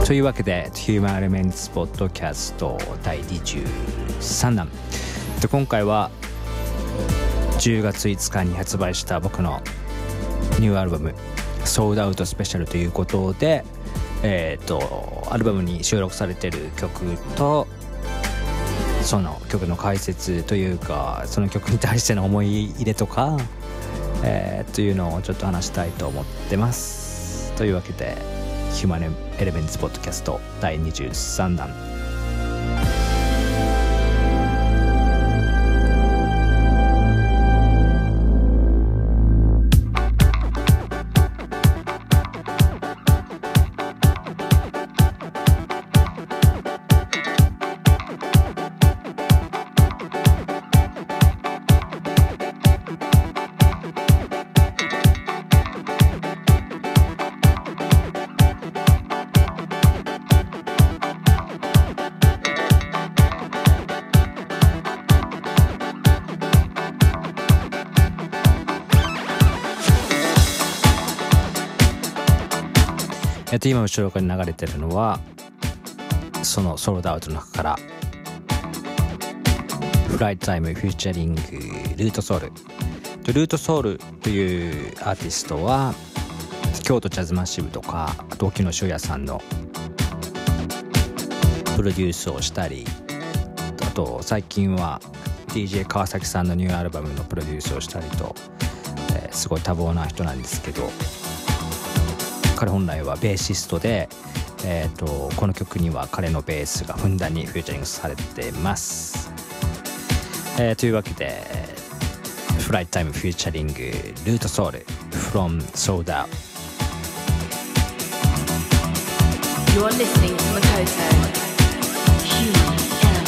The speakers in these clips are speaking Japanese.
というわけでヒューマンエレメンツポッドキャスト第23弾で、今回は10月5日に発売した僕のニューアルバムソールドアウトスペシャルということで、アルバムに収録されている曲とその曲の解説というか、その曲に対しての思い入れとか、というのをちょっと話したいと思ってます。というわけでヒューマンエレメンツポッドキャスト第23弾。今後ろに流れてるのはそのソールドアウトの中からフライトタイムフューチャリングルートソウル。ルートソウルというアーティストは京都ジャズマッシブとか同期の修也さんのプロデュースをしたり、あと最近は DJ 川崎さんのニューアルバムのプロデュースをしたりと、すごい多忙な人なんですけど、彼本来はベーシストで、この曲には彼のベースがふんだんにフューチャリングされてます。というわけでフライトタイムフューチャリングルートソウル from Sold Out。 You're listening to Makoto Human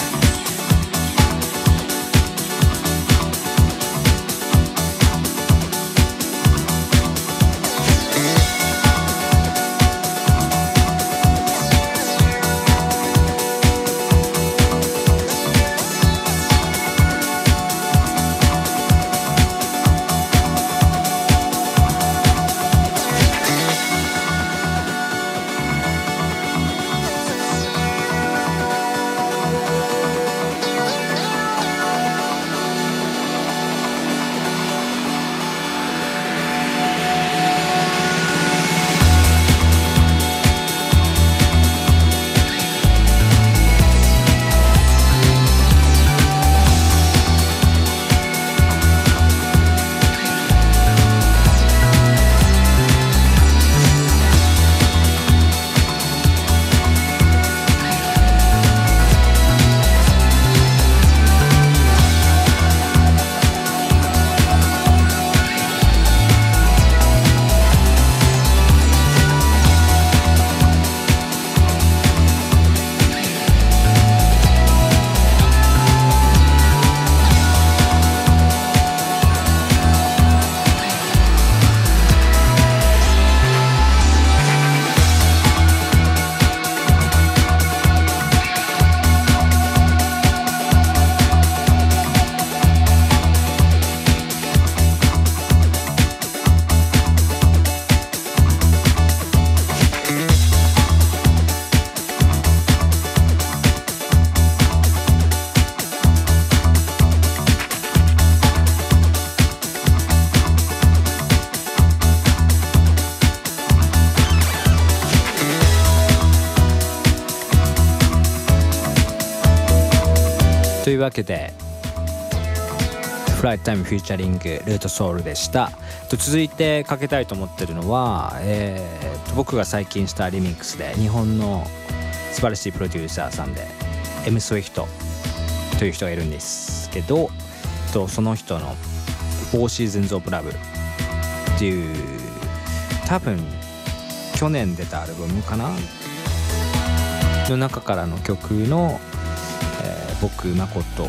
というわけでフライトタイムフューチャリングルートソウルでした。続いてかけたいと思ってるのは、僕が最近したリミックスで日本の素晴らしいプロデューサーさんで M スウィフトという人がいるんですけど、その人の4 Seasons of Love っていう多分去年出たアルバムかなの中からの曲の、僕誠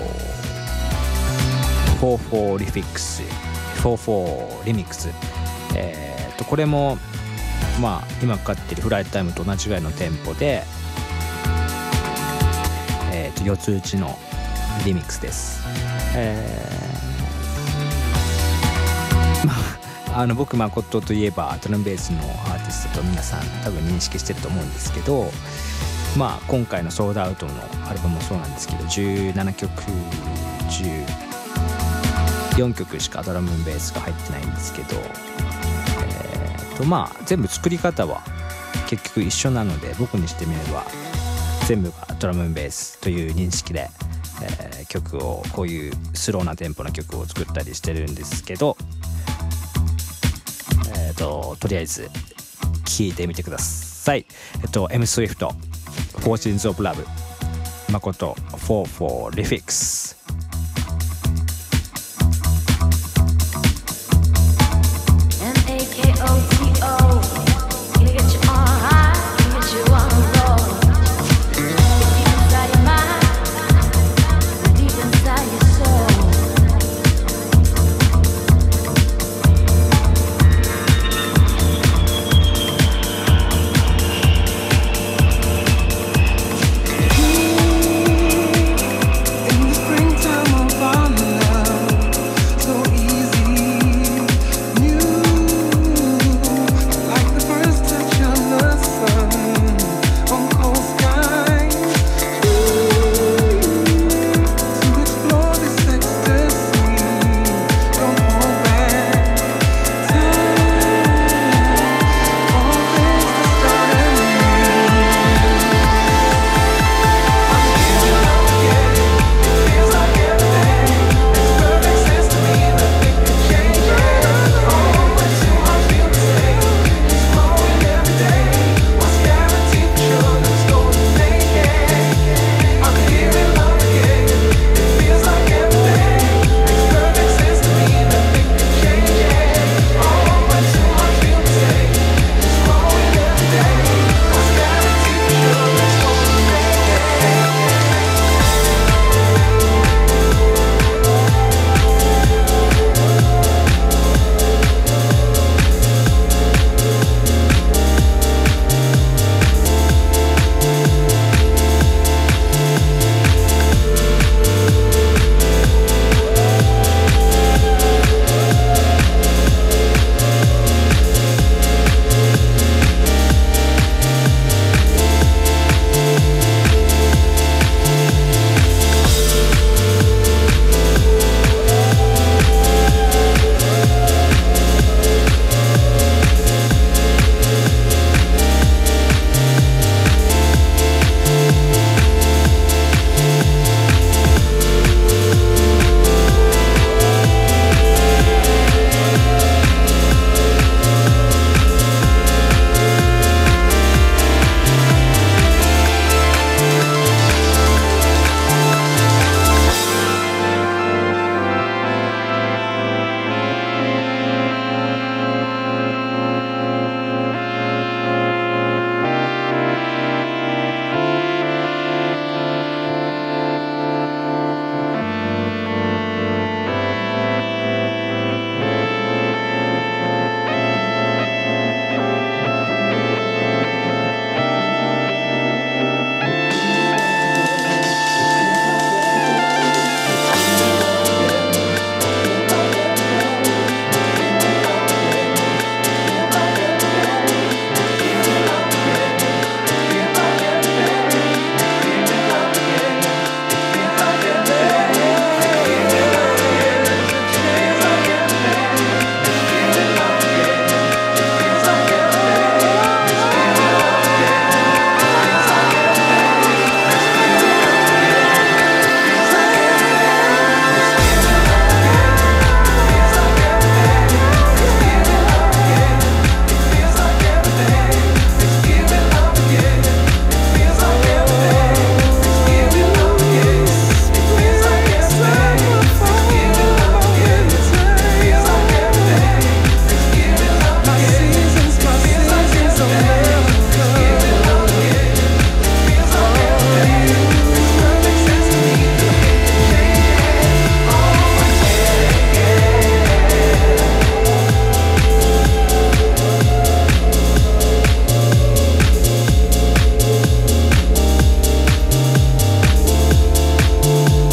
44リフィックス44リミックス、これもまあ今かかっているフライトタイムと同じぐらいのテンポで、4つ打ちのリミックスです。まあ僕誠といえばドラムベースのアーティストと皆さん多分認識してると思うんですけど、今回のソードアウトのアルバムもそうなんですけど、17曲14曲しかドラムベースが入ってないんですけど、全部作り方は結局一緒なので、僕にしてみれば全部がドラムベースという認識で、曲をこういうスローなテンポの曲を作ったりしてるんですけど、とりあえず聴いてみてください。M Swift Fortunes of Love 誠 for Refix。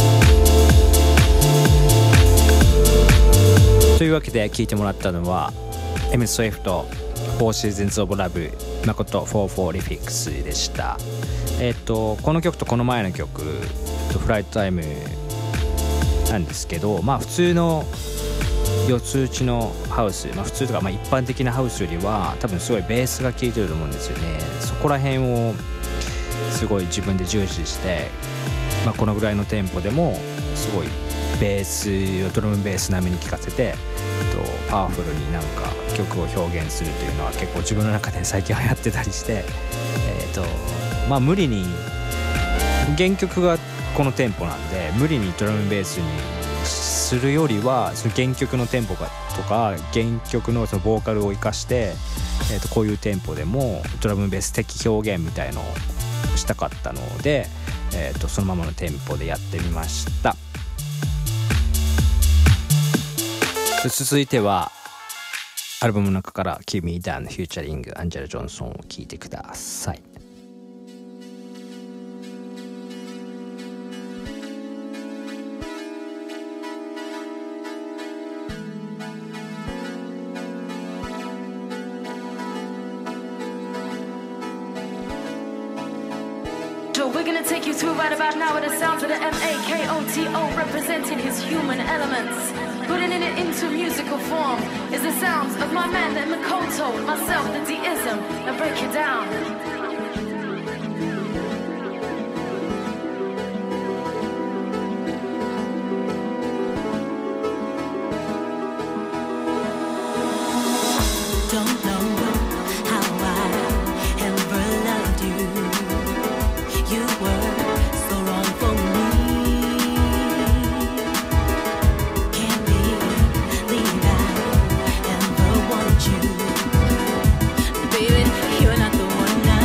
というわけで聴いてもらったのは M. Swift Four Seasons of Love 誠44リフィックスでした。この曲とこの前の曲フライトタイムなんですけど、まあ普通の四つ打ちのハウス、まあ普通とかまあ一般的なハウスよりは多分すごいベースが効いてると思うんですよね。そこら辺をすごい自分で重視して、まあこのぐらいのテンポでもすごいベースをドラムベース並みに聴かせてパワフルになんか曲を表現するというのは結構自分の中で最近流行ってたりして、まあ無理に原曲がこのテンポなんで無理にドラムベースにするよりはその原曲のテンポがとか原曲のそのボーカルを生かして、こういうテンポでもドラムベース的表現みたいのをしたかったので、そのままのテンポでやってみました。続いてはアルバムの中から「Keep Me Down」フューチャリングアンジェラ・ジョンソンを聴いてください。 We're gonna take you through right about now with the sounds of the MAKOTO representing his human elements. Putting it into musical form is the sounds of my man, the Makoto, myself, the deism. Now break it down. Don't know how I ever loved you. You were so wrong for me. Can't believe I ever wanted you. Baby, you're not the one now.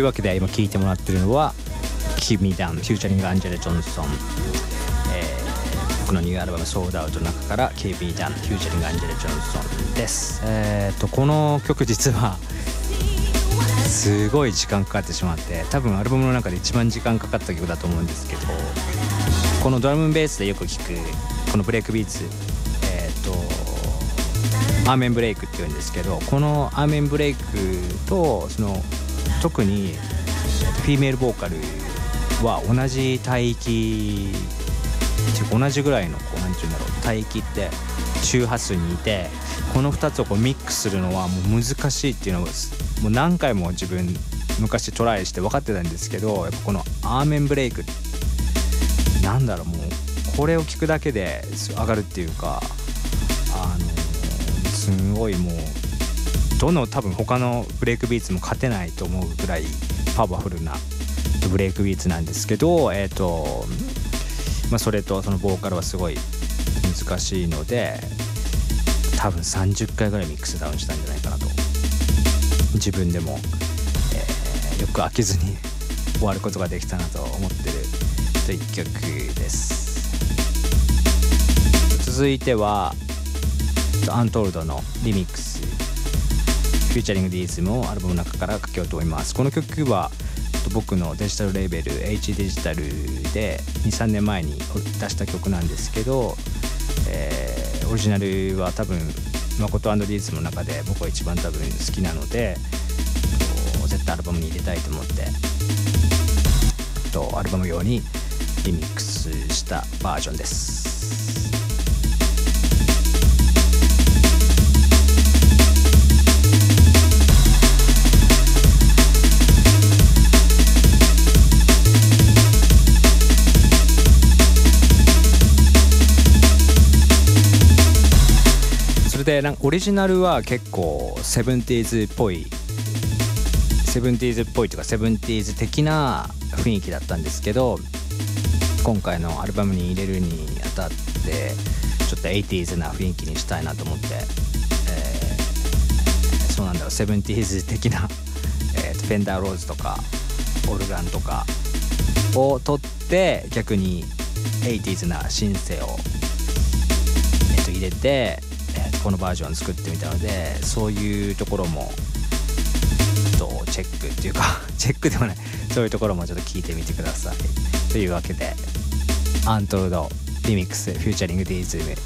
いうわけで今聴いてもらってるのは Keep Me Down フューチャリングアンジェラ・ジョンソン、僕のニューアルバムソードアウトの中から Keep Me Down フューチャリングアンジェラ・ジョンソンです。この曲実はすごい時間かかってしまって、多分アルバムの中で一番時間かかった曲だと思うんですけど、このドラムベースでよく聴くこのブレイクビーツ、アーメンブレイクっていうんですけど、このアーメンブレイクとその特にフィメールボーカルは同じ帯域っていうか同じぐらいのこうなんていうんだろう、帯域って周波数にいて、この2つをこうミックスするのはもう難しいっていうのをもう何回も自分昔トライして分かってたんですけど、やっぱこのアーメンブレイクなんだろう、もうこれを聞くだけで上がるっていうか、すごいもうどの多分他のブレイクビーツも勝てないと思うぐらいパワフルなブレイクビーツなんですけど、それとそのボーカルはすごい難しいので、多分30回ぐらいミックスダウンしたんじゃないかなと自分でも、よく飽きずに終わることができたなと思ってるという曲です。続いてはアントールドのリミックスフューチャリングディーズムをアルバムの中からかけようと思います。この曲は僕のデジタルレーベル H デジタルで 2,3 年前に出した曲なんですけど、オリジナルは多分誠&ディーズムの中で僕は一番多分好きなので、絶対アルバムに入れたいと思ってアルバム用にリミックスしたバージョンです。でオリジナルは結構70s っぽいというか70s 的な雰囲気だったんですけど、今回のアルバムに入れるにあたってちょっと 80s な雰囲気にしたいなと思って、そうなんだろう 70s 的な、フェンダーローズとかオルガンとかを取って逆に 80s なシンセを、入れてこのバージョン作ってみたので、そういうところもチェックっていうかチェックではない、そういうところもちょっと聞いてみてください。というわけでアントルドリミックスフューチャリングディーズム。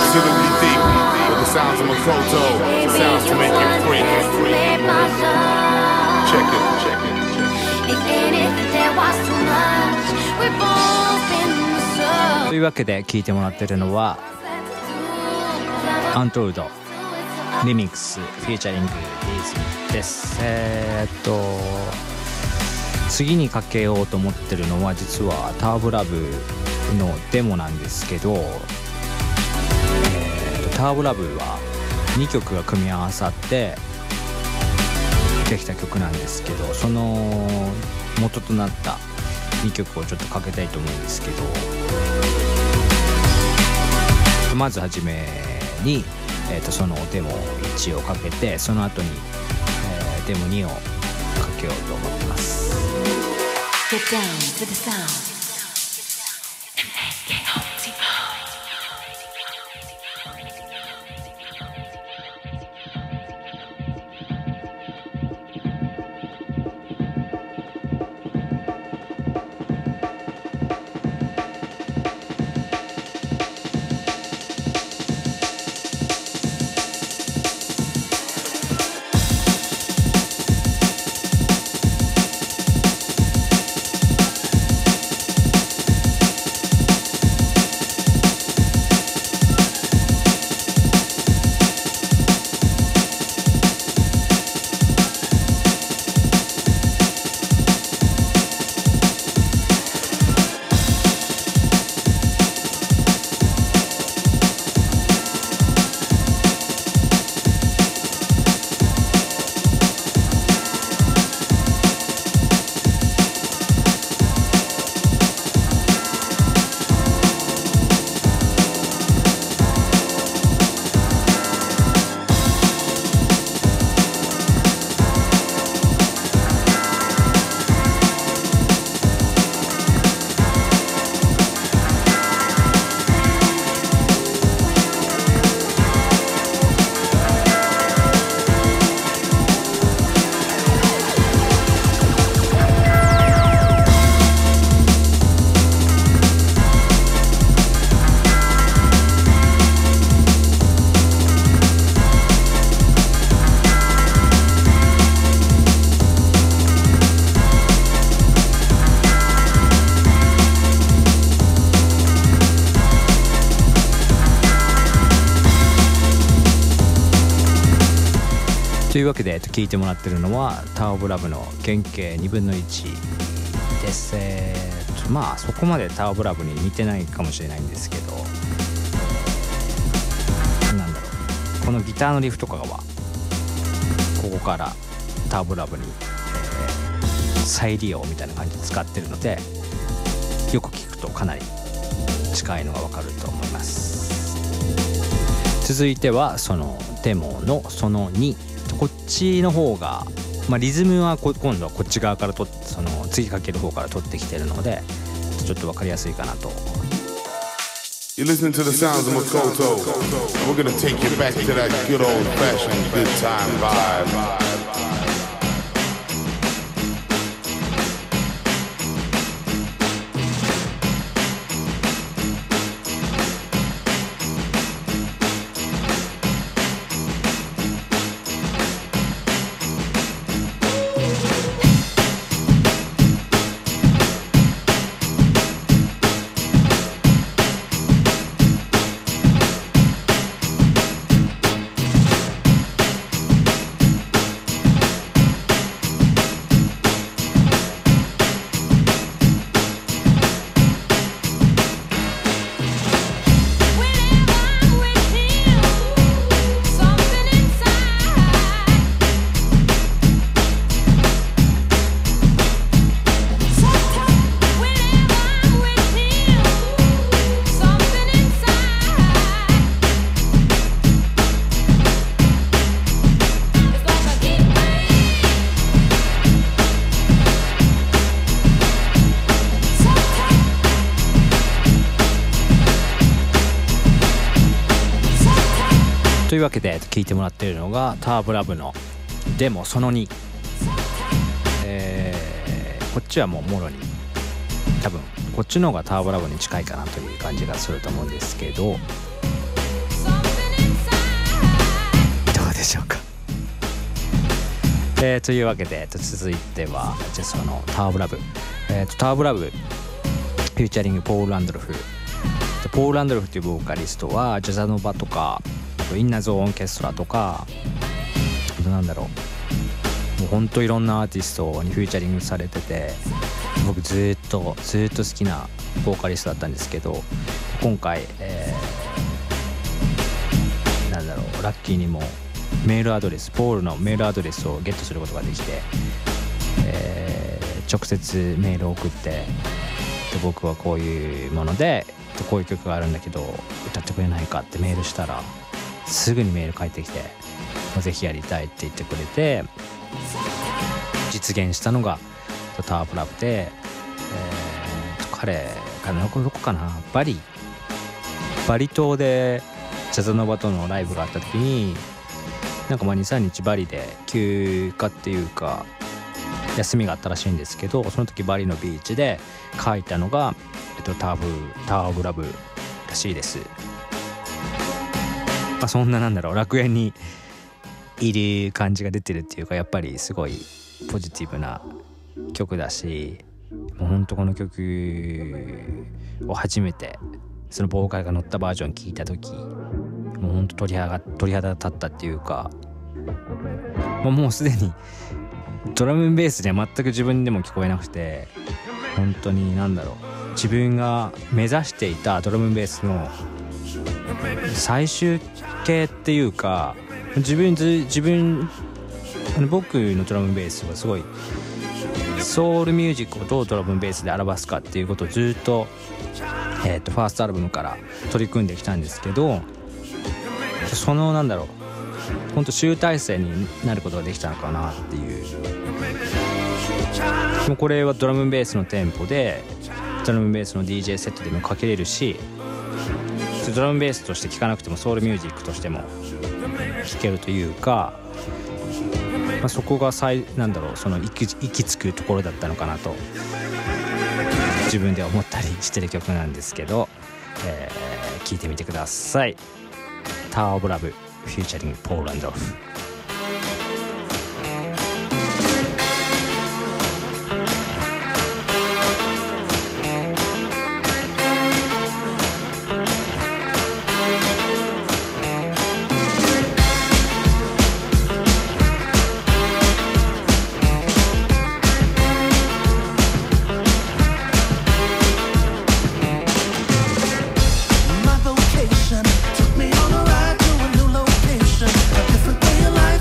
considerably deep, but the sounds of Makoto, the sounds to make you free. Check it, check it, check it. If anything there was too much, we've both been so. というわけで聴いてもらってるのはアントルドリミックスフィーチャリングリズムです。次にかけようと思ってるのは実はターボラブのデモなんですけど、ターボラブは2曲が組み合わさってできた曲なんですけど、その元となった2曲をちょっとかけたいと思うんですけど、まずはじめに、そのデモ1をかけて、その後に、デモ2をかけようと思ってます。 Get down to the sound. MAKOTO. というわけで聴いてもらってるのはターボラブの原型2分の1です。まあそこまでターボラブに似てないかもしれないんですけど、なんだろう、このギターのリフとかはここからターボラブに、再利用みたいな感じで使ってるので、よく聞くとかなり近いのがわかると思います。続いてはそのデモのその2、こっちの方が、リズムは今度はこっち側からその次かける方から取ってきてるので、ちょっと分かりやすいかなと。 You listen to the sounds of Makoto. We're gonna take you back to that good old-fashioned good time vibe. というわけで聴いてもらっているのがターボラブのデモその2、こっちはもうもろに多分こっちの方がターボラブに近いかなという感じがすると思うんですけど、 というわけで、続いてはじゃあそのタワーオブラブ、タワーオブラブフューチャリングポール・ランドルフ。ポール・ランドルフっていうボーカリストはジャザノバとかインナーゾーンオーケストラとか、あとなんだろう、もうほんといろんなアーティストにフューチャリングされてて、僕ずっと好きなボーカリストだったんですけど、今回、なんだろう、ラッキーにもメールアドレス、ポールのメールアドレスをゲットすることができて、直接メールを送って、僕はこういうものでこういう曲があるんだけど歌ってくれないかってメールしたら、すぐにメール返ってきて、ぜひやりたいって言ってくれて、実現したのがタワーオブラブで、彼がどこかな、バリ島でジャザノバとのライブがあった時に、なんか2、3日バリで休暇っていうか休みがあったらしいんですけど、その時バリのビーチで書いたのが、タワーオブラブらしいです。そんななんだろう、楽園にいる感じが出てるっていうか、やっぱりすごいポジティブな曲だし、もうほんとこの曲を初めてそのボーカルが乗ったバージョン聴いた時、もうほんと鳥肌立ったっていうか、もうすでにドラムベースでは全く自分でも聞こえなくて、本当になんだろう、自分が目指していたドラムベースの最終形っていうか、僕のドラムベースはすごいソウルミュージックをどうドラムベースで表すかっていうことをずっと、ファーストアルバムから取り組んできたんですけど、そのなんだろう、本当集大成になることができたのかなっていう。もうこれはドラムベースのテンポで、ドラムベースの DJ セットでもかけれるし、ドラムベースとして聴かなくてもソウルミュージックとしても聴けるというか、そこがなんだろう、その行き着くところだったのかなと自分で思ったりしてる曲なんですけど、聴いてみてください。タワーオブラブフューチャリングポール・ランドルフ。 My vocation took me on a ride to a new location, a different way of life.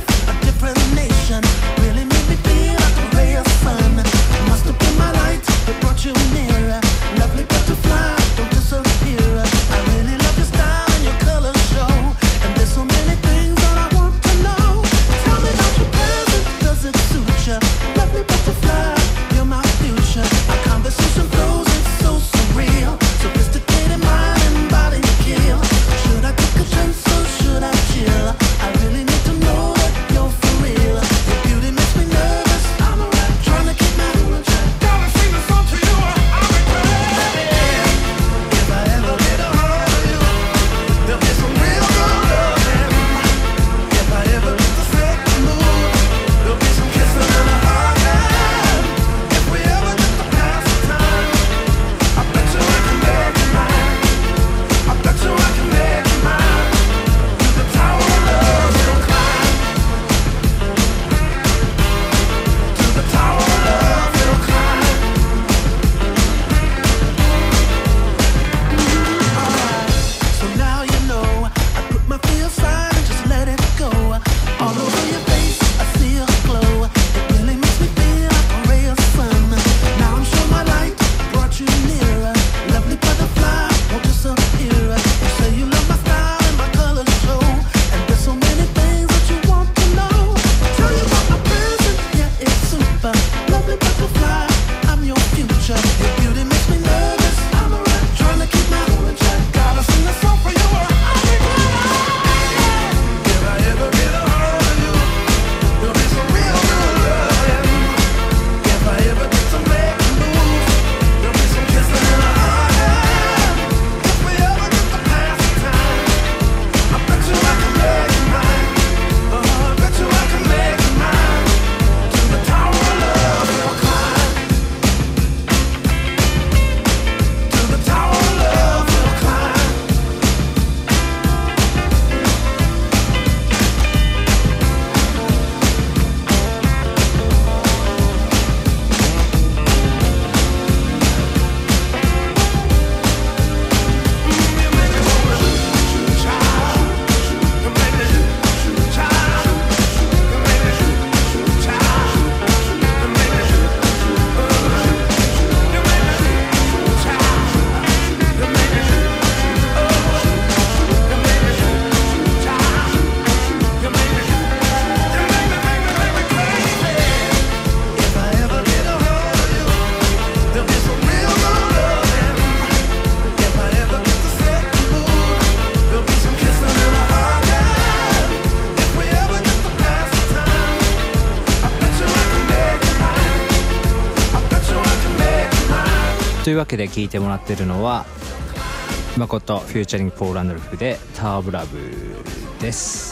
というわけで聴いてもらってるのは誠フューチャリングポール・ランドルフでターブラブです。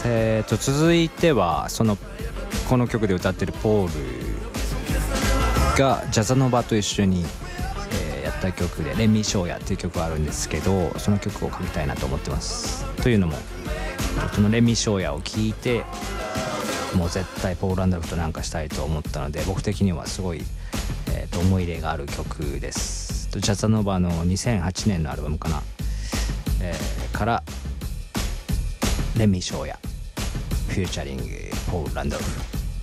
続いてはこの曲で歌ってるポールがジャザノバと一緒に、やった曲でレミショーヤっていう曲があるんですけど、その曲をかけたいなと思ってます。というのもそのレミショーヤを聴いてもう絶対ポール・ランドルフとなんかしたいと思ったので、僕的にはすごい、思い入れがある曲です。ジャザノバの2008年のアルバムかな、からレミショーヤフューチャリングポール・ランドルフ。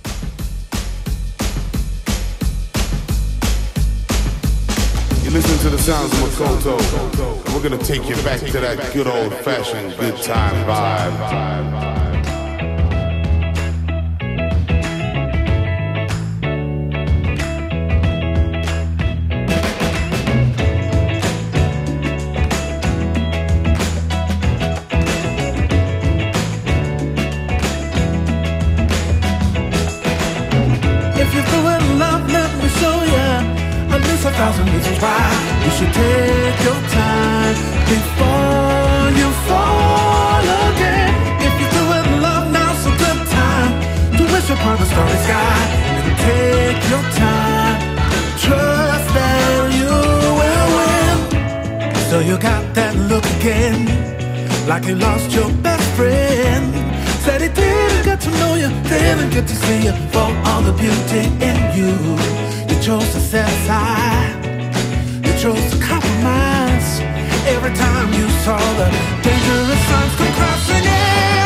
You listen to the sounds of Makoto, and we're gonna take you back to that good old-fashioned good time vibe. Thousand reasons why you should take your time before you fall again. If you do it in love, now's a good time to wish upon the starry sky and take your time. Trust that you will win. So you got that look again, like you lost your best friend. Said he didn't get to know you, didn't get to see you for all the beauty in you. You chose to set aside, you chose to compromise. Every time you saw the dangerous signs come crashing in.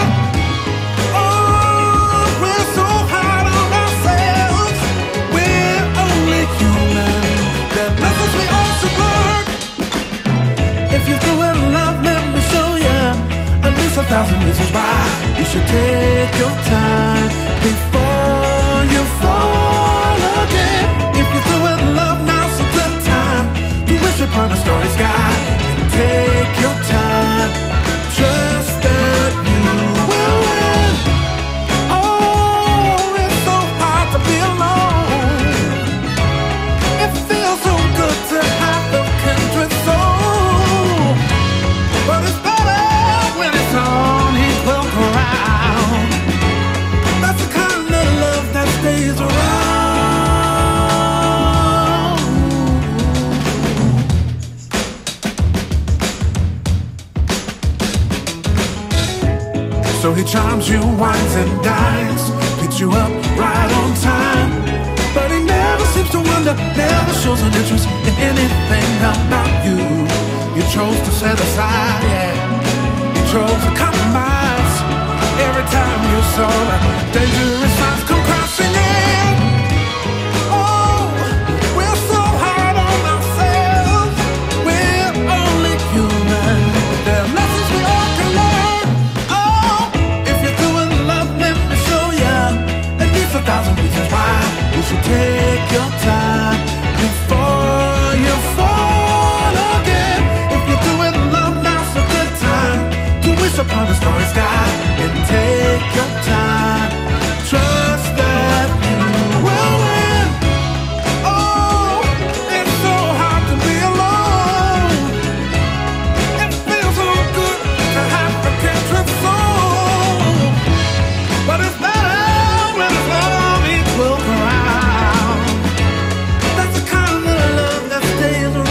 Oh, we're so hard on ourselves, we're only human. There are lessons we all should learn. If you do it in love, let me show you at least 1,000 reasons why you should take your time before you fall again. If you do it in love, now's a good time to wish upon a starry sky and take your time. Trust that you will win. Oh, it's so hard to be alone. It feels so good to have a kindred soul, but it's better when it's on equal ground. That's the kind of love that stays around. So he charms you, wines and dines, picks you up right on time. But he never seems to wonder, never shows an interest in anything about you. You chose to set aside, yeah. You chose to compromise. Every time you saw the dangerous signs come crashing in. Oh, we're so hard on ourselves, we're only human. There are lessons we all can learn. Oh, if you're doing love, let me show ya at least 1,000 reasons why you should take your time before you fall again. If you're doing love, now's a good time to wish upon a starry sky and take your time. Trust that you will win. Oh, it's so hard to be alone. It feels so good to have a kindred soul, but it's better when it's on equal ground. That's the kind of love that stays around.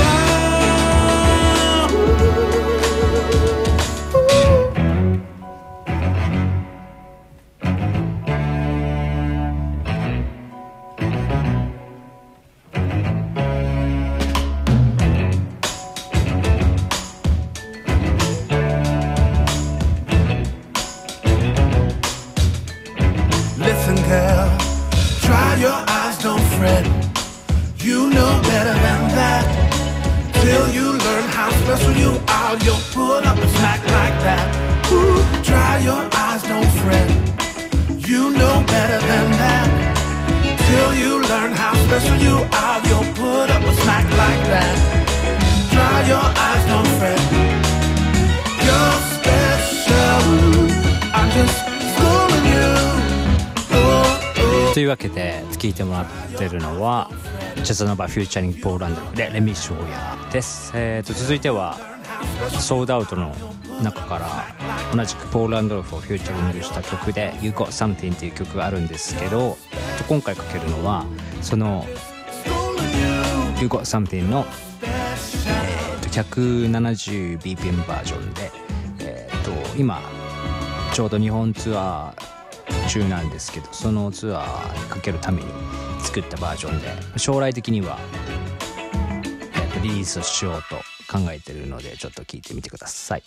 Listen, girl, dry your eyes, don't fret. You know better than that. Till you learn how special you are, you'll pull up and smack like that. Ooh, dry your eyes, don't fret. You know better than that. Till you learn how special you are, you'll put up a smack like that. Dry your eyes, don't fret. You're special. I'm just schooling you. というというわけで聴いてもらってるのはジャズノバフューチャリングポール・アンドルでレミショーヤです。続いてはソールドアウトの中から同じくポール・アンドルフをフューチャリングした曲で You Got Something っていう曲があるんですけど、今回かけるのはその You Got Something の、170bpm バージョンで、今ちょうど日本ツアー中なんですけど、そのツアーにかけるために作ったバージョンで、将来的には、リリースしようと考えているので、ちょっと聞いてみてください。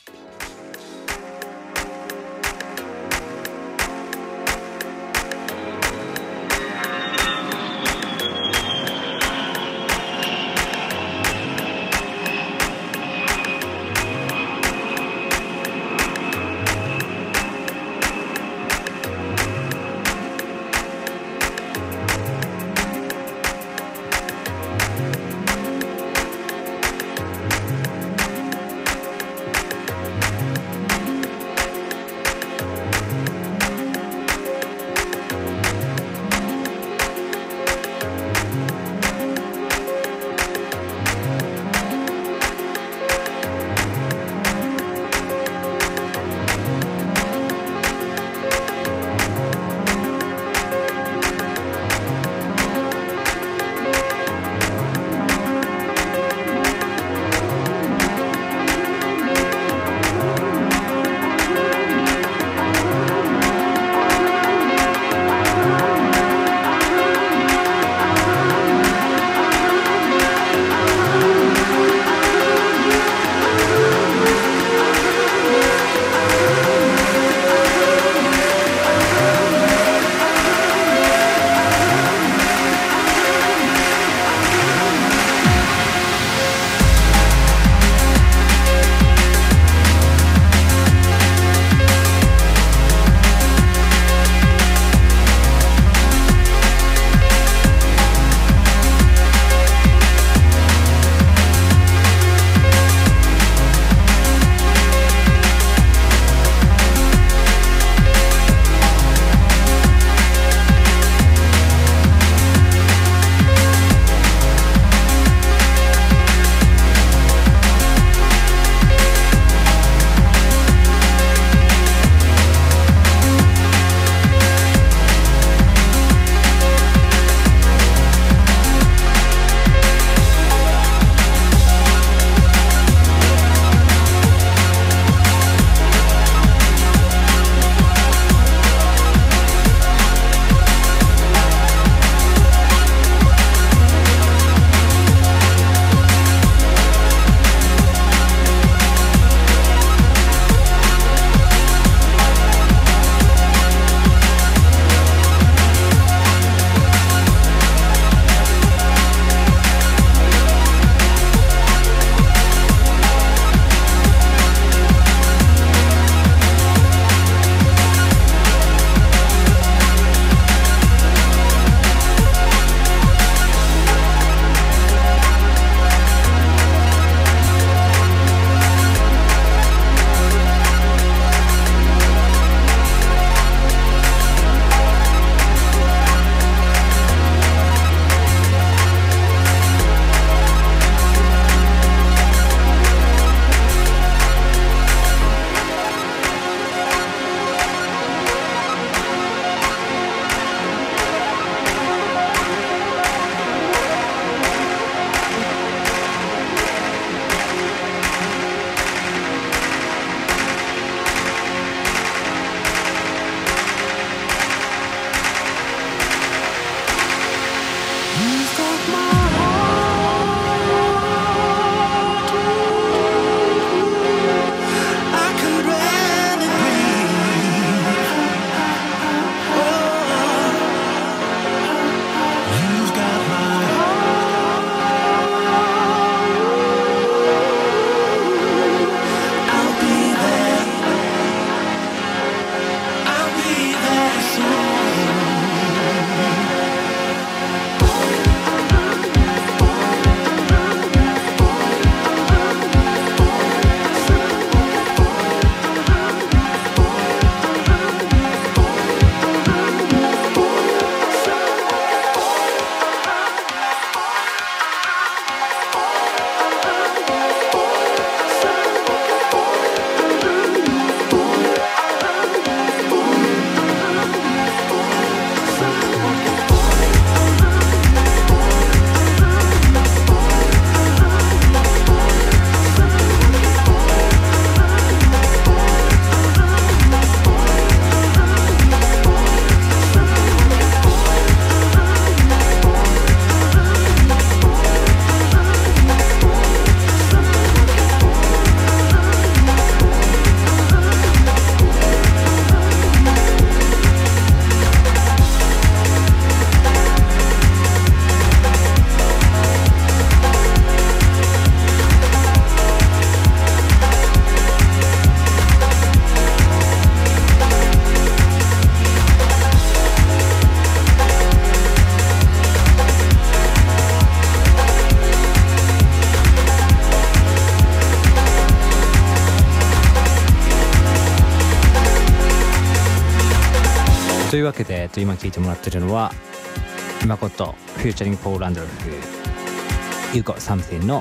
というわけで、今聴いてもらってるのは誠フューチャリングポール・ランドルフ You Got Something の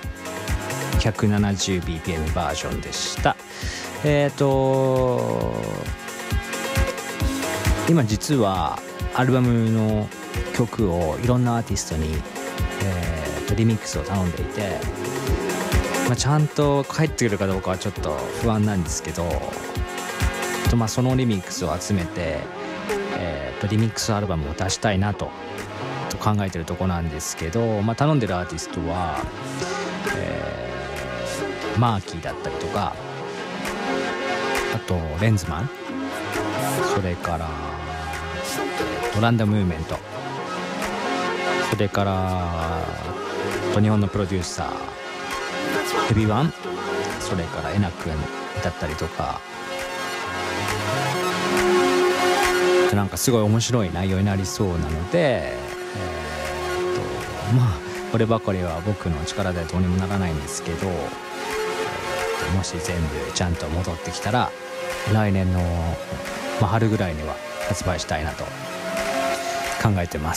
170bpm バージョンでした。今実はアルバムの曲をいろんなアーティストに、リミックスを頼んでいて、ちゃんと返ってくるかどうかはちょっと不安なんですけど、そのリミックスを集めて、リミックスアルバムを出したいなと考えてるとこなんですけど、頼んでるアーティストは、マーキーだったりとか、あとレンズマン、それからランダムムーブメント、それから日本のプロデューサーヘビワン、それからエナ君だったりとか、なんかすごい面白い内容になりそうなので、こればかりは僕の力ではどうにもならないんですけど、もし全部ちゃんと戻ってきたら来年の、春ぐらいには発売したいなと考えてます。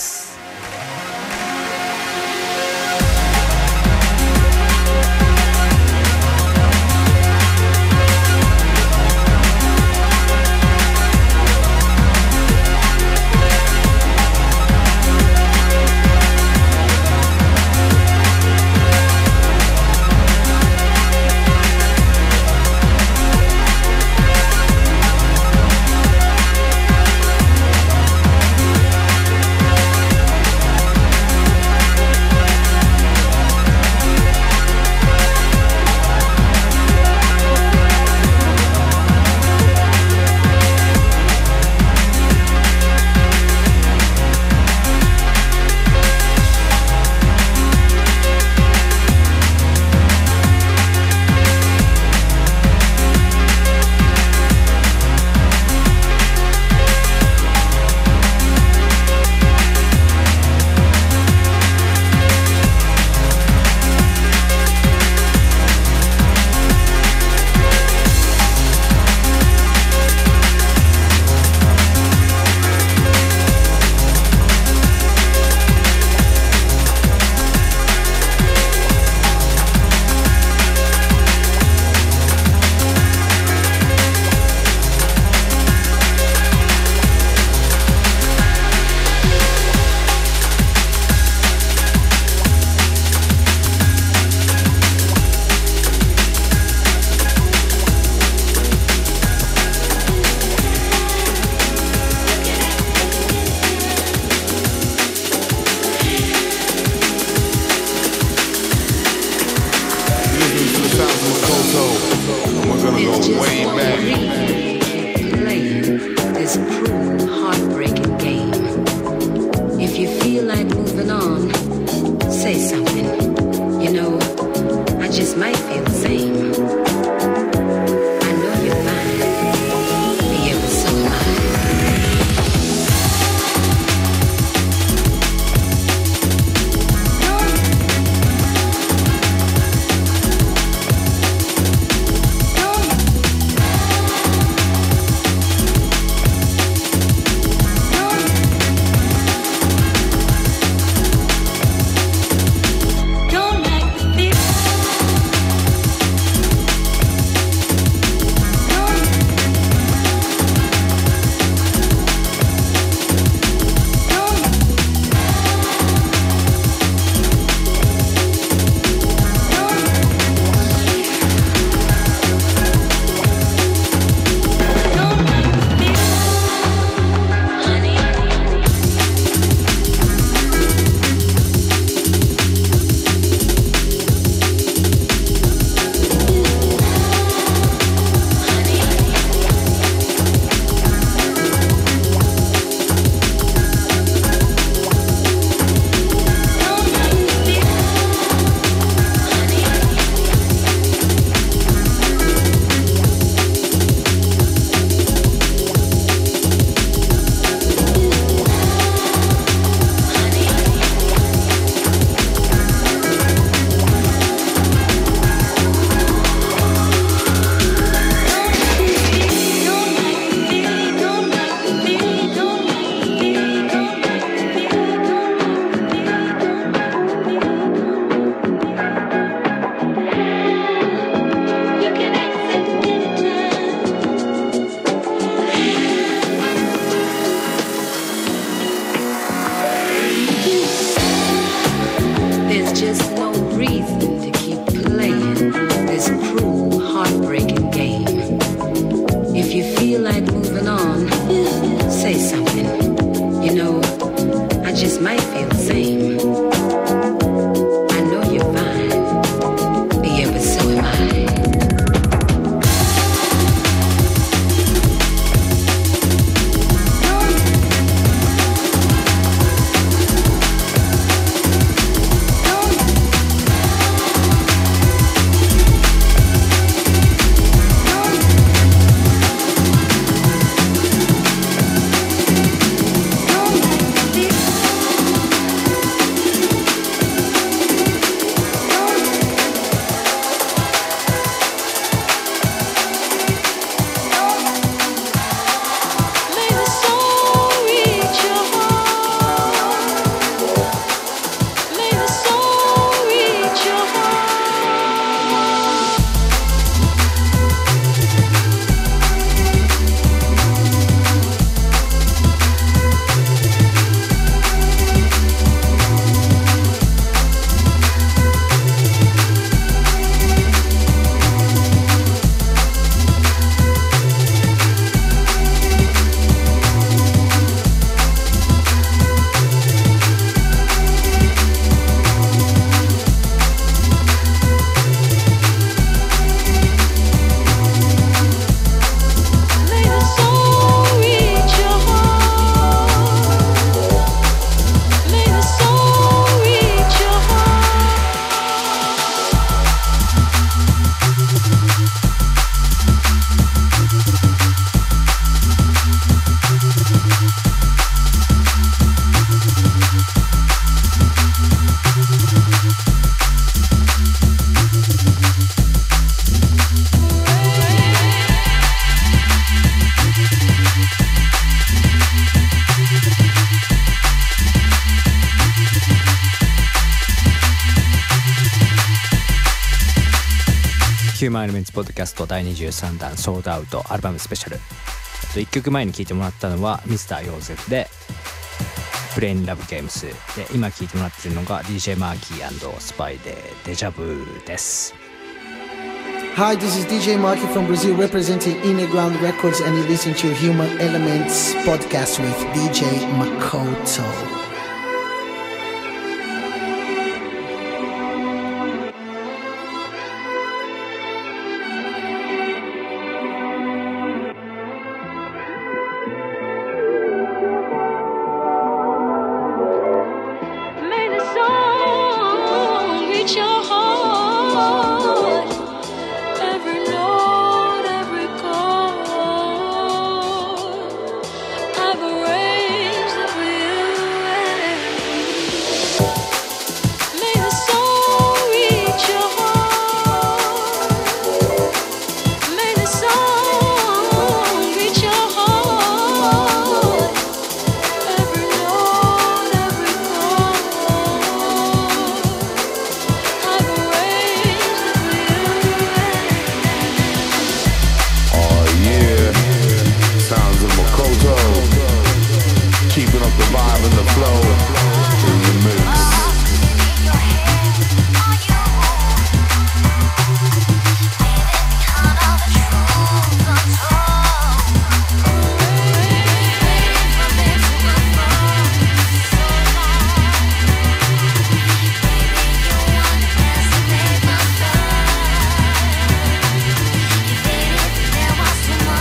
ヒューマンエレメンツポッドキャスト第23弾ソールドアウトアルバムスペシャル。1曲前に聴いてもらったのはミスターヨーゼフでプレインラブゲームスで、今聴いてもらってるのが DJ マーキー&スパイでデジャブです。 Hi, this is DJ Marky from Brazil representing Innerground Records, and you're listening to Human Elements podcast with DJ Makoto.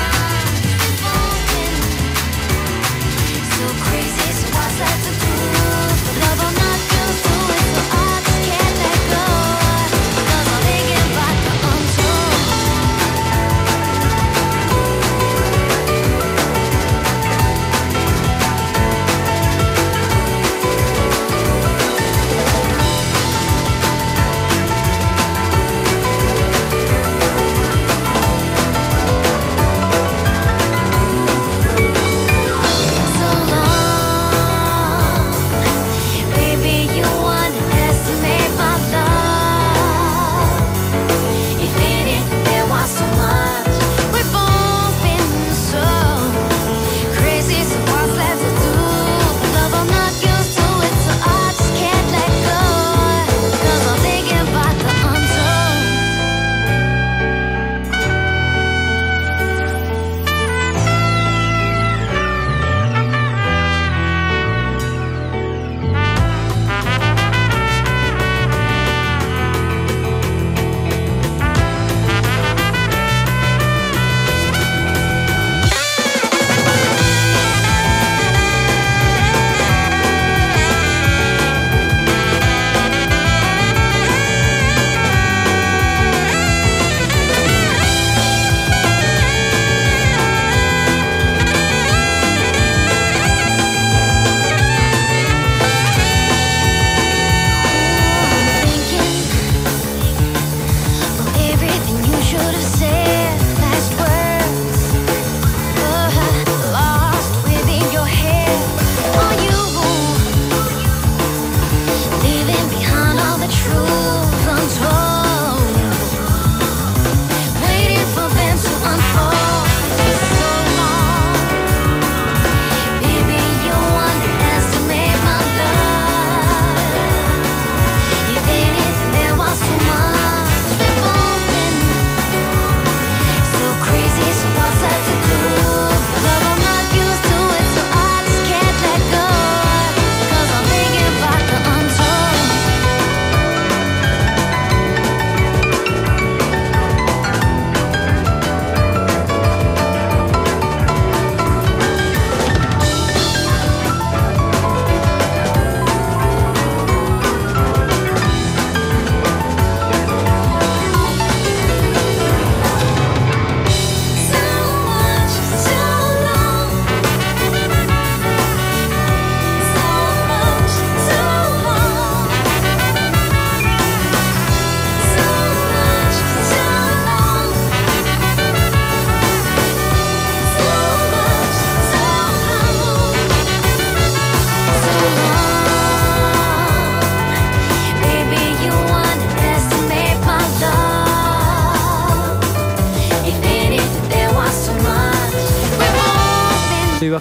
So crazy, so what's that to do?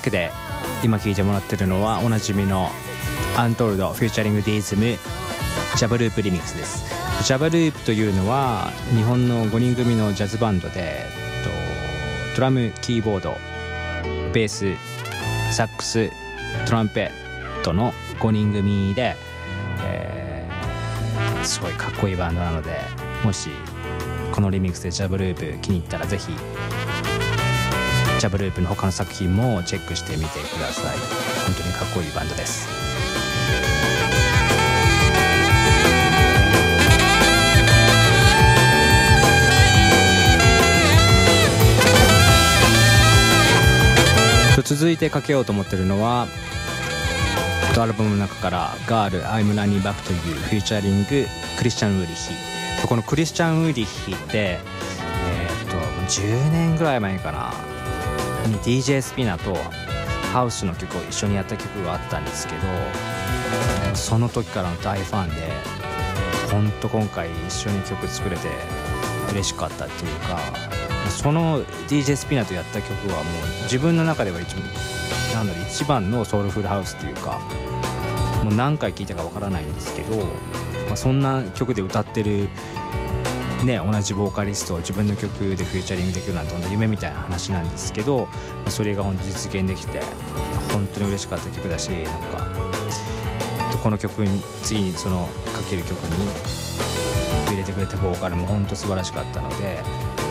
けで今聴いてもらってるのはおなじみのアントールドフューチャリングディズムジャブループリミックスです。ジャブループというのは日本の5人組のジャズバンドで、ドラム、キーボード、ベース、サックス、トランペットの5人組で、すごいかっこいいバンドなので、もしこのリミックスでジャブループ気に入ったらぜひジャブループの他の作品もチェックしてみてください。本当にかっこいいバンドです。続いてかけようと思ってるのはアルバムの中からガール I'm Running Back to You フューチャリングクリスチャン・ウーリヒ。このクリスチャン・ウーリヒって10年ぐらい前かなに DJ スピナとハウスの曲を一緒にやった曲があったんですけど、その時からの大ファンで本当今回一緒に曲作れて嬉しかったっていうか、その DJ スピナとやった曲はもう自分の中では一番のソウルフルハウスっていうか、もう何回聴いたかわからないんですけど、そんな曲で歌ってるね、同じボーカリストを自分の曲でフューチャリングできるなんて夢みたいな話なんですけど、それが本当実現できて本当に嬉しかった曲だし、なんかこの曲に次にそのかける曲に入れてくれたボーカルも本当素晴らしかったので、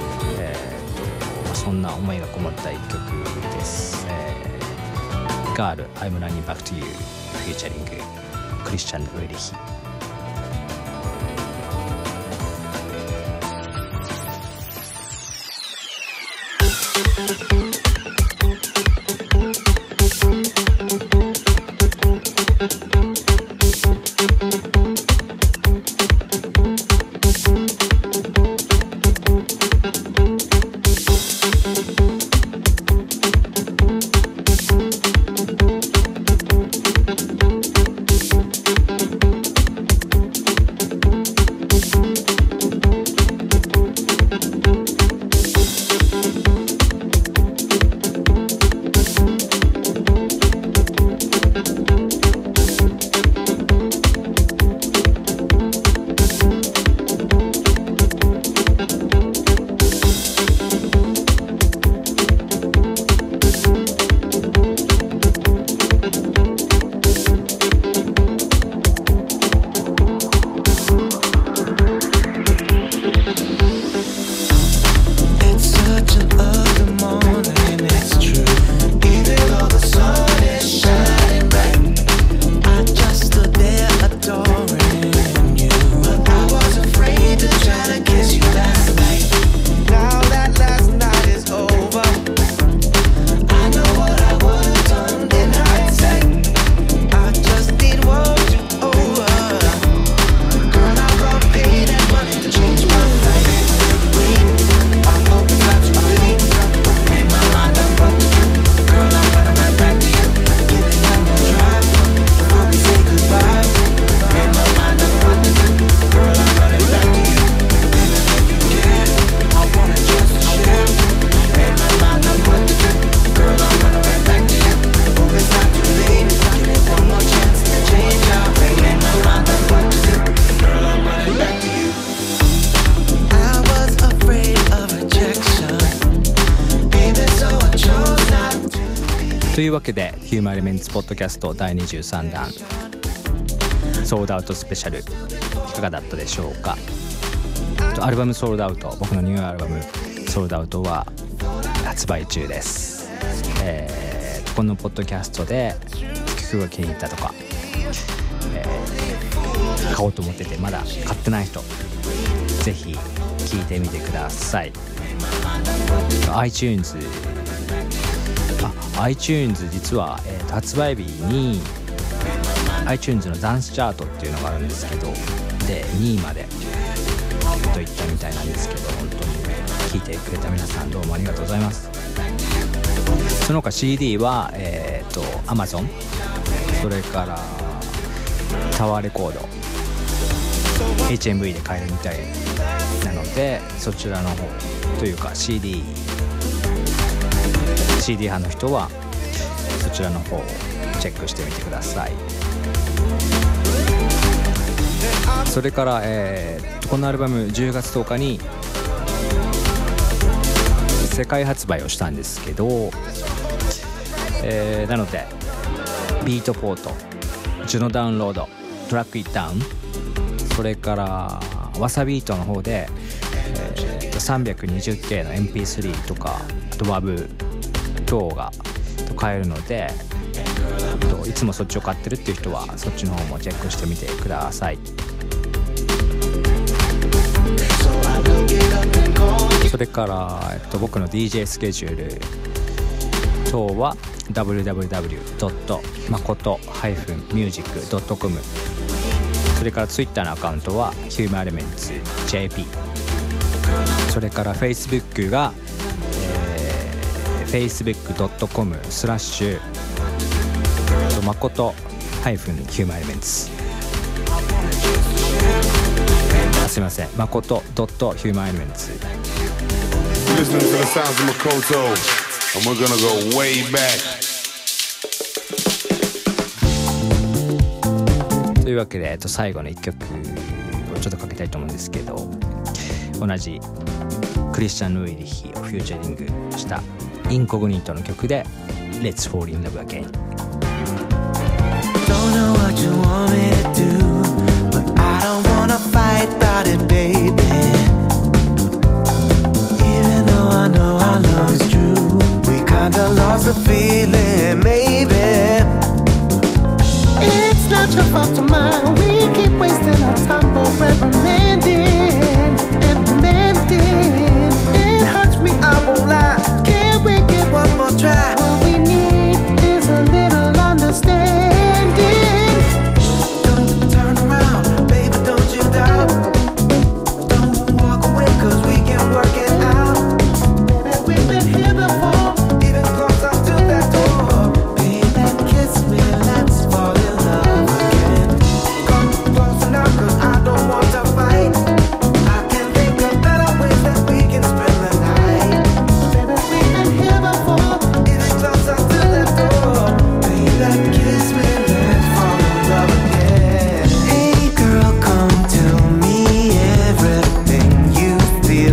そんな思いがこもった一曲です。ガール I'm Running Back to You フューチャリングクリスチャン・ウーリヒ。というわけでヒューマンエレメンツポッドキャスト第23弾ソールドアウトスペシャルいかがだったでしょうか。アルバムソールドアウト、僕のニューアルバムソールドアウトは発売中です。このポッドキャストで曲が気に入ったとか、買おうと思っててまだ買ってない人ぜひ聴いてみてください。iTunes 実は、発売日に iTunes のダンスチャートっていうのがあるんですけど、で2位までといったみたいなんですけど、本当に聴いてくれた皆さんどうもありがとうございます。その他 CD はAmazon、 それからタワーレコード HMV で買えるみたいなので、そちらの方というか CD 派の人はそちらの方をチェックしてみてください。それから、このアルバム10月10日に世界発売をしたんですけど、なのでビートポート、ジュノダウンロード、トラックイッダウン、それからワサビートの方で、320K の MP3 とかあと WAV 等が買えるので、いつもそっちを買ってるっていう人はそっちの方もチェックしてみてください。それから、僕の DJ スケジュール等は www.makoto-music.com、 それからツイッターのアカウントは HumanElementsJP、 それから Facebook が、facebook.com/makoto-humanelements、 すいません、makoto.humanelements。 Listening to the sounds of Makoto, and we're gonna go way back. というわけで、最後の1曲をちょっとかけたいと思うんですけど、同じクリスチャン・ルイリヒをフューチャリングしたインコグニートの曲で Let's Fall in Love Again。 Don't know what you want me to do, but I don't wanna fight about it, baby. Even though I know our love is true, we kinda lost the feeling, maybe. It's not your fault or mine. We keep wasting our time forever mending and mending. It hurts me, I won't lie. Can we get one more try? All we need is a little understanding. Don't turn around, baby, don't you doubt. Don't walk away, 'cause we can work it out. That we've been here before. Even closer to that door. Baby, kiss me, let's fall in love again. Come closer now, 'cause I don't want to fight. I can think of better ways that we can spend the night. That we've been here before. Even closer to that door. Baby, kiss me, let's fall in love again. Hey girl, come tell me everything you feel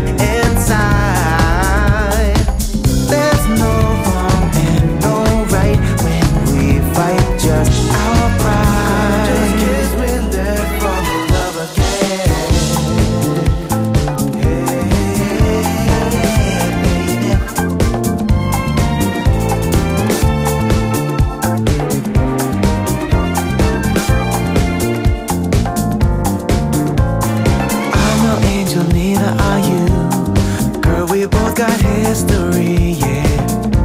inside. There's no wrong and no right when we fight just our pride. Just kiss me, let's fall in love again. Hey, baby. I'm no angel, neither are you. Girl, we both got history, yeah.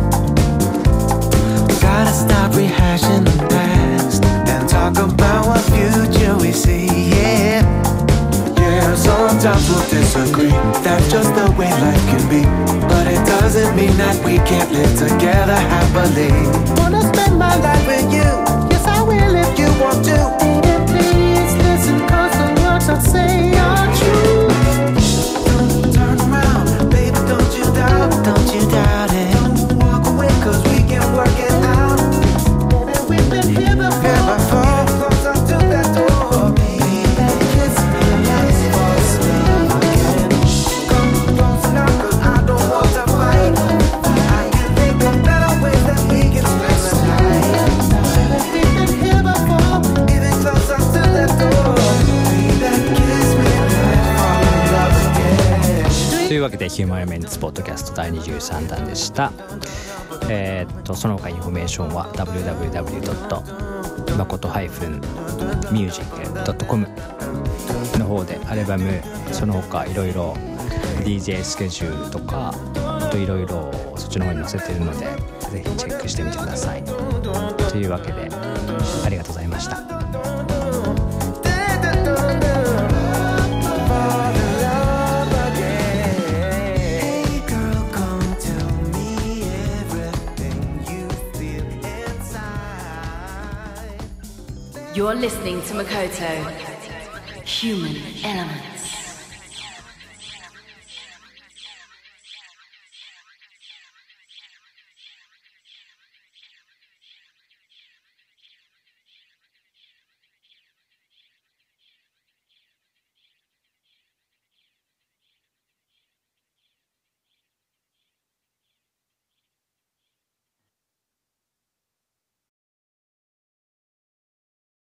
Gotta stop rehashing the past and talk about what future we see, yeah. Yeah, sometimes we'll disagree. That's just the way life can be. But it doesn't mean that we can't live together happily. Wanna spend my life With you, yes, I will if you want to. Baby, please listen, 'cause the words I say are true. Don't turn around, baby, don't you doubt. Don't you doubt it. Don't walk away, 'cause we can work it out. That we've been here Yeah, before. before closer to that door. Baby, kiss me, let's fall in love again. Come closer now, 'cause I don't want to fight. I can think of better ways that we can spend the night. That we've been here before. Even closer to that door. Baby, kiss me, let's fall in love again. というわけでヒューマンエレメンツポッドキャスト第23弾でした。その他インフォメーションは www.makoto-music.com の方でアルバム、その他いろいろ DJ スケジュールとかあといろいろそっちの方に載せてるので、ぜひチェックしてみてください。というわけでありがとうございました。 Hey girl, come tell me everything you feel inside. You're listening to Makoto. Human Element.